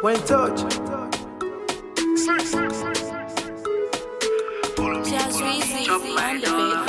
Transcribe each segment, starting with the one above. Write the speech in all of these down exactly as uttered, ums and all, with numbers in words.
When touch. Follow me, follow me, chop my dollar.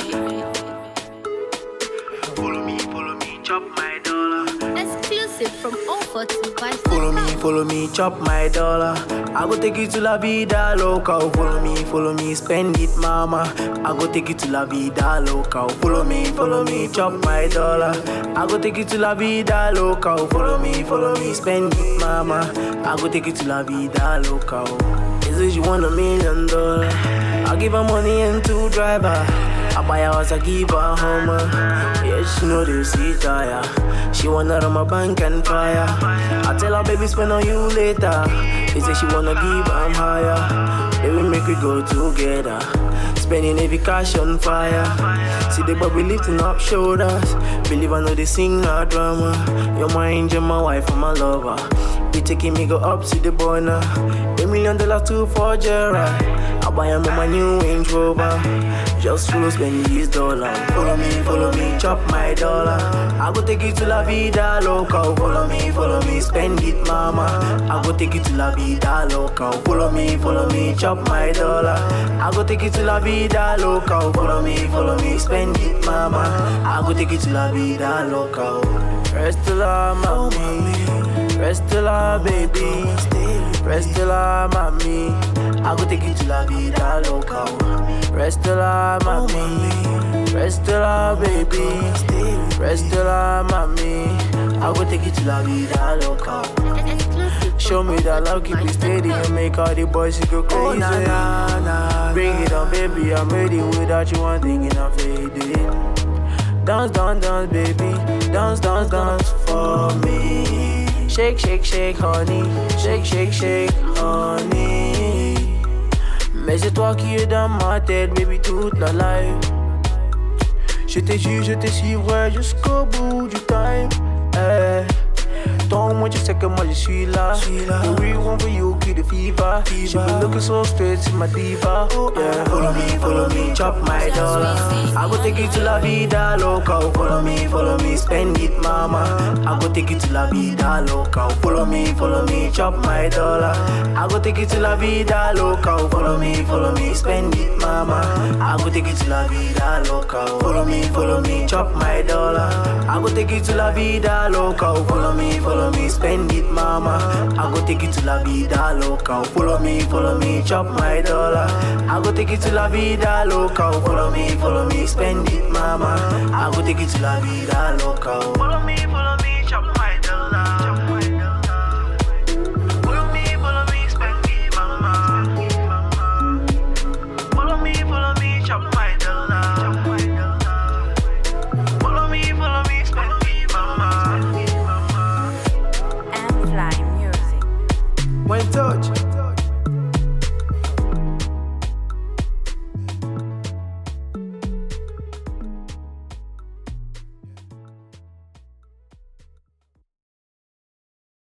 Follow me, follow me, chop my dollar. Exclusive from Offer to Vice. Follow me, follow me, chop my dollar. I go take you to La Vida Loca. Follow me, follow me, spend it, mama. I go take you to La Vida Loca. Follow me, follow me, chop my dollar. I go take you to La Vida Loca. Follow me, follow me, spend it, mama. I go take you to La Vida Loca. Is it you want a million dollars? I give her money and two driver. I buy a house, I give her a Hummer. Yeah, she know they see tire. She wanna run my bank and fire. I tell her, baby, spend on you later. She say she wanna give, I'm higher. Baby, make we go together. Spending every cash on fire. See the bubble lifting up shoulders. Believe I know they sing no drama. You're my angel, my wife, and my lover. You taking me go up to the border. A million dollars too for Gerard. I buy him my new Range Rover. Just follow, spend these dollars. Follow me, follow me, chop my dollar. I go take you to La Vida Loca. Follow me, follow me, spend it, mama. I go take you to La Vida Loca. Follow me, follow me, chop my dollar. I go take you to La Vida Loca. Follow me, follow me, spend it, mama. I go take you to La Vida Loca. Rest la, mommy. Rest la, baby. Rest la, mommy. I go take you to La Vida Loca. Rest la, mommy. Rest la, baby. Rest la, mommy. I go take you to La Vida Loca. Show me that love, keep it steady and make all the boys go crazy. Oh, nah, nah, nah, bring it on, baby. I'm ready without you. I'm thinking I'm faded. Dance, dance, dance, baby. Dance, dance, dance for me. Shake, shake, shake, honey. Shake, shake, shake, honey. Mais c'est toi qui es dans ma tête, baby, toute la life. Je t'ai su, je te suivrai jusqu'au bout du time. Hey. Don't want you sais que moi je suis là. The real one for you, keep the fever. She been looking so straight to my diva. Yeah. Follow me, follow me, chop my dollar. I go take you to La Vida Loca. Follow me, follow me, spend it, mama. I go take you to La Vida Loca. Follow me, follow me, chop my dollar. I go take you to La Vida Loca. Follow me, follow me, spend it, mama. I go take you to La Vida Loca. Follow me, follow me, chop my dollar. I go take you to La Vida Loca. Follow me, follow me, spend it, mama. I go take you to La Vida Loca. Follow me, follow me, chop my dollar. I go take you to La Vida Loca. Follow me, follow me, spend it, mama. I go take you to La Vida Loca. Follow me.